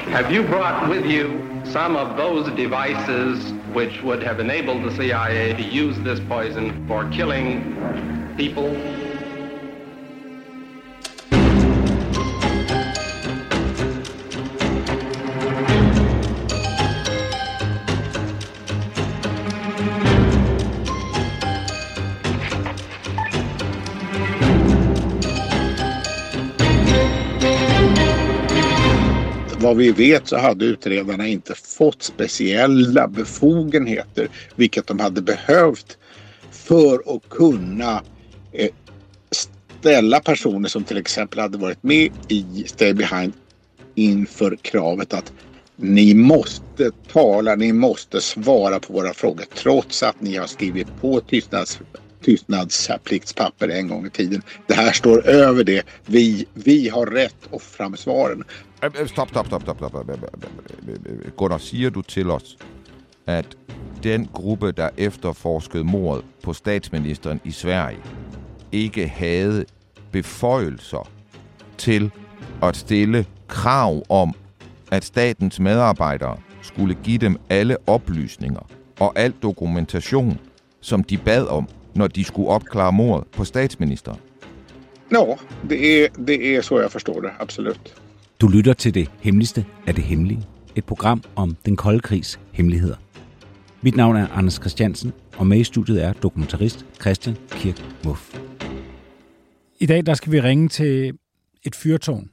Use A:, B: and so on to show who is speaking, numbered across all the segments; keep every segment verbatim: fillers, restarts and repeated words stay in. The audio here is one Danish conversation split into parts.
A: Have you brought with you some of those devices which would have enabled the C I A to use this poison for killing people?
B: Vad vi vet så hade utredarna inte fått speciella befogenheter, vilket de hade behövt för att kunna eh, ställa personer som till exempel hade varit med i Stay Behind inför kravet att ni måste tala, ni måste svara på våra frågor trots att ni har skrivit på tystnads, tystnadspliktspapper en gång i tiden. Det här står över det. Vi, vi har rätt att få fram svaren.
C: Stop, stop, stop, stop, stop. Gunnar, siger du til os, at den gruppe, der efterforskede mordet på statsministeren i Sverige, ikke havde beføjelser til at stille krav om, at statens medarbejdere skulle give dem alle oplysninger og al dokumentation, som de bad om, når de skulle opklare mordet på statsministeren?
B: Ja, det er, det er så jeg forstår det, absolut.
D: Du lytter til Det Hemmeligste af det Hemmelige, et program om den kolde krigs hemmeligheder. Mit navn er Anders Christiansen, og med i studiet er dokumentarist Christian Kirk Muff.
E: I dag der skal vi ringe til et fyrtårn.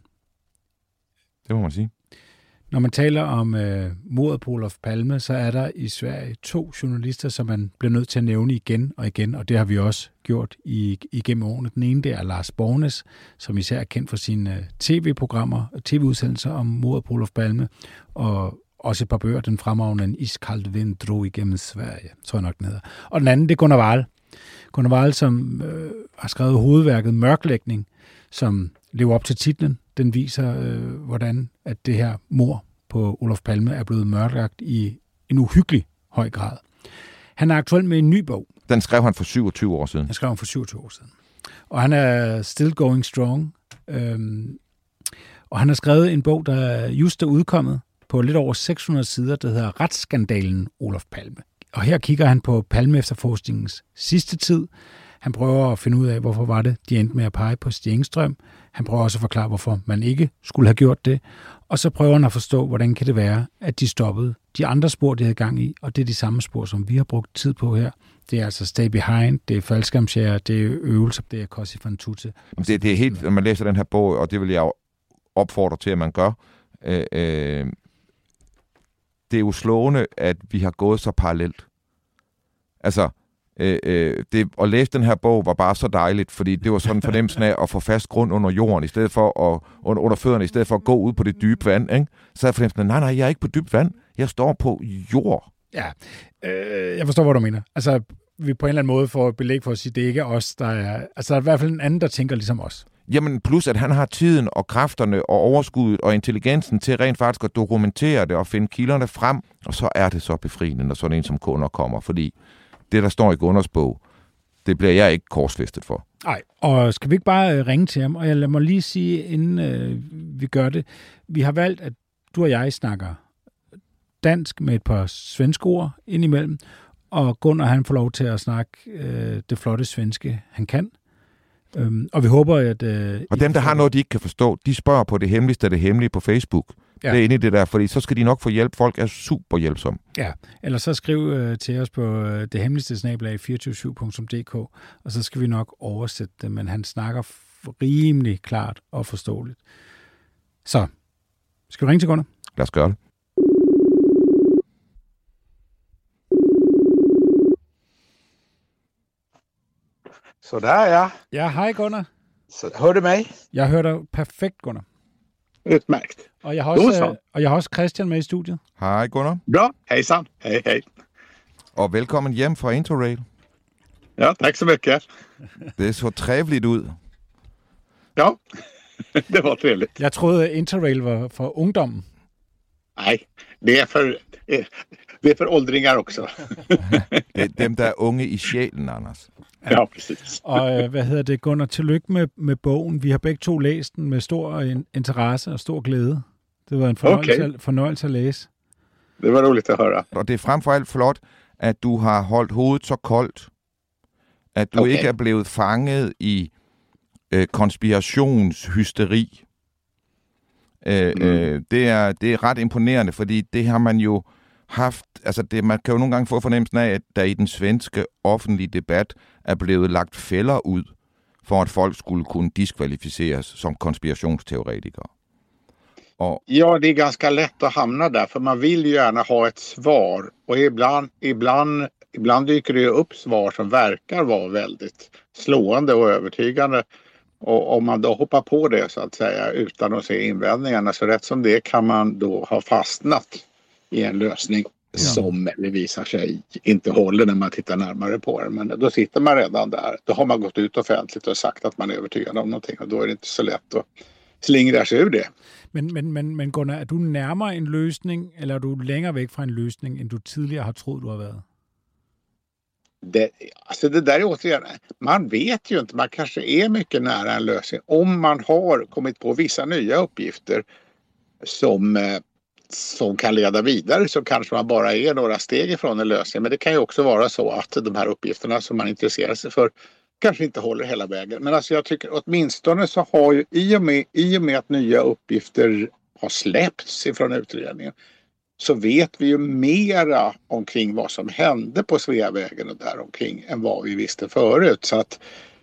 C: Det må man sige.
E: Når man taler om øh, mordet på Olof Palme, så er der i Sverige to journalister, som man bliver nødt til at nævne igen og igen, og det har vi også gjort i, igennem årene. Den ene, det er Lars Borgnæs, som især er kendt for sine øh, tv-programmer og tv-udsendelser om mordet på Olof Palme, og også et par bøger, den fremragende En iskald vind drog igennem Sverige, tror jeg nok, den hedder. Og den anden, det er Gunnar Wall. Gunnar Wall, som øh, har skrevet hovedværket Mørklægning, som lever op til titlen. Den viser, øh, hvordan at det her mord på Olof Palme er blevet mørklagt i en uhyggelig høj grad. Han er aktuel med en ny bog.
C: Den skrev han for syvogtyve år siden.
E: Den skrev han for syvogtyve år siden. Og han er still going strong. Øhm, og han har skrevet en bog, der just er udkommet på lidt over seks hundrede sider, der hedder Retsskandalen Olof Palme. Og her kigger han på Palme-efterforskningens sidste tid. Han prøver at finde ud af, hvorfor var det, de endte med at pege på Stig Engström. Han prøver også at forklare, hvorfor man ikke skulle have gjort det. Og så prøver han at forstå, hvordan kan det være, at de stoppede de andre spor, de havde gang i. Og det er de samme spor, som vi har brugt tid på her. Det er altså Stay Behind, det er faldskærmsjæger, det er øvelser, det er Cosi fan tutte.
C: Det, det er helt, når man læser den her bog, og det vil jeg jo opfordre til, at man gør. Øh, øh, det er jo slående, at vi har gået så parallelt. Altså, Øh, øh, det, at læse den her bog var bare så dejligt, fordi det var sådan en fornemmelse af at få fast grund under jorden, i stedet for at, under, under fødderne, i stedet for at gå ud på det dybe vand, ikke? Så er fornemmelsen af, nej, nej, jeg er ikke på dybt vand, jeg står på jord.
E: Ja, øh, jeg forstår, hvad du mener. Altså, vi på en eller anden måde får belæg for at sige, at det ikke er os, der er... Altså, der er i hvert fald en anden, der tænker ligesom os.
C: Jamen, plus at han har tiden og kræfterne og overskuddet og intelligensen til rent faktisk at dokumentere det og finde kilderne frem, og så er det så befriende, når sådan en som kunder kommer, fordi det, der står i Gunnars bog, det bliver jeg ikke korsfæstet for.
E: Nej, og skal vi ikke bare ringe til ham? Og jeg lad mig lige sige, inden øh, vi gør det, vi har valgt, at du og jeg snakker dansk med et par svenske ord indimellem, og Gunnar, han får lov til at snakke øh, det flotte svenske, han kan. Øhm, og vi håber, at... Øh,
C: og dem, der har noget, de ikke kan forstå, de spørger på Det Hemmeligste af det Hemmelige på Facebook. Ja. Det er inde i det der, fordi så skal de nok få hjælp. Folk er super hjælpsomme.
E: Ja, eller så skriv øh, til os på øh, det hemmeligste snabel-a fireogtyve syv punktum d k, og så skal vi nok oversætte det, men han snakker rimelig klart og forståeligt. Så, skal vi ringe til Gunnar?
C: Lad os gøre det.
B: Så der er jeg.
E: Ja, hej Gunnar.
B: Så hør du mig?
E: Jeg hører dig perfekt, Gunnar.
B: Utmærkt.
E: Og jeg har også, og jeg har også Christian med i studiet.
C: Hej Gunnar.
B: Bra, hejsan. Hej, hej.
C: Og velkommen hjem fra Interrail.
B: Ja, tak så mycket.
C: Det så trevligt ud.
B: Ja, det var trevligt.
E: Jeg troede, Interrail var for ungdommen.
B: Nej, det er for, det er for åldringar også.
C: Det er dem, der er unge i sjælen, Anders.
B: Ja, præcis.
E: Og hvad hedder det, Gunnar? Tillykke med, med bogen. Vi har begge to læst den med stor interesse og stor glæde. Det var en fornøjelse,
B: Okay.
E: fornøjelse at læse.
B: Det var roligt at høre.
C: Og det er frem for alt flot, at du har holdt hovedet så koldt, at du
B: Okay.
C: ikke er blevet fanget i øh, konspirationshysteri. Øh,
B: Mm.
C: øh, det, er, det er ret imponerende, fordi det har man jo haft, altså det, man kan jo nogle gange få fornemmelsen af, at der i den svenske offentlige debat er blevet lagt fælder ud, for at folk skulle kunne diskvalificeres som konspirationsteoretikere. Og
B: Ja, det är ganska lätt att hamna där, för man vill ju gärna ha ett svar. Och ibland, ibland, ibland dyker det ju upp svar som verkar vara väldigt slående och övertygande. Och om man då hoppar på det så att säga utan att se invändningarna, så rätt som det kan man då ha fastnat i en lösning
C: Ja.
B: som det visar sig inte håller när man tittar närmare på den. Men då sitter man redan där. Då har man gått ut offentligt och sagt att man är övertygad om någonting, och då är det inte så lätt att slingra sig ur det.
E: Men, men, men, men Gunnar, er du nærmere en løsning, eller er du længere væk fra en løsning, end du tidligere har troet, du har været?
B: Det, alltså det där är återigen, man vet ju inte, man kanske är mycket nära en lösning om man har kommit på vissa nya uppgifter som, eh, som kan leda vidare, så kanske man bara är några steg ifrån en lösning. Men det kan ju också vara så att de här uppgifterna som man intresserar sig för kanske inte håller hela vägen. Men alltså jag tycker åtminstone så har ju i och med, i och med att nya uppgifter har släppts ifrån utredningen, så vet vi ju mera omkring vad som hände på Sveavägen och där omkring än vad vi visste förut. Så att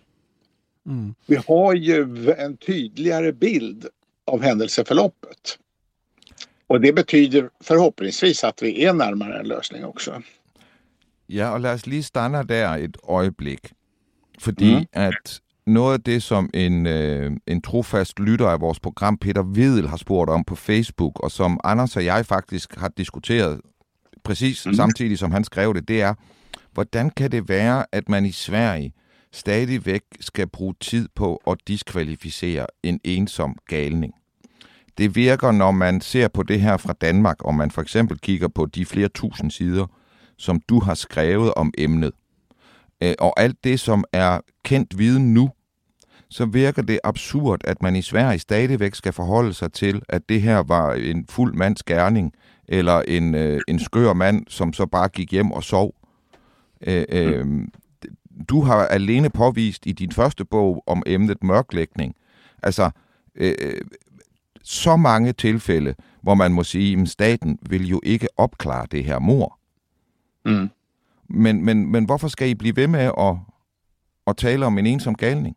E: Mm.
B: vi har ju en tydligare bild av händelseförloppet. Och det betyder förhoppningsvis att vi är närmare en løsning också.
C: ja, og lad os lige stanne der et øjeblik. Fordi mm. at noget af det, som en, øh, en trofast lytter af vores program, Peter Vedel, har spurgt om på Facebook, og som Anders og jeg faktisk har diskuteret præcis mm. samtidig, som han skrev det, det er, hvordan kan det være, at man i Sverige stadigvæk skal bruge tid på at diskvalificere en ensom galning? Det virker, når man ser på det her fra Danmark, og man for eksempel kigger på de flere tusind sider, som du har skrevet om emnet, og alt det, som er kendt viden nu, så virker det absurd, at man i Sverige stadigvæk skal forholde sig til, at det her var en fuld mands gerning, eller en, øh, en skør mand, som så bare gik hjem og sov. Øh, øh, du har alene påvist i din første bog om emnet mørklægning, altså øh, så mange tilfælde, hvor man må sige, at staten vil jo ikke opklare det her mord.
B: Mm.
C: Men, men, men hvorfor skal I blive ved med at, at tale om en ensom galning?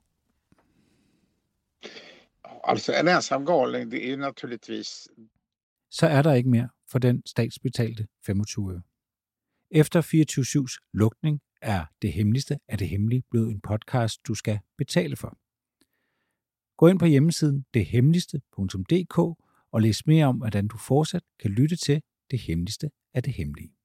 B: Alltså en ensam galning, det är ju naturligtvis...
E: Så er der ikke mere for den statsbetalte femogtyve øre. Efter fireogtyve syvs lukning er Det Hemmeligste af det Hemmelige blevet en podcast, du skal betale for. Gå ind på hjemmesiden det hemmeligste punktum d k og læs mere om, hvordan du fortsat kan lytte til Det Hemmeligste af det Hemmelige.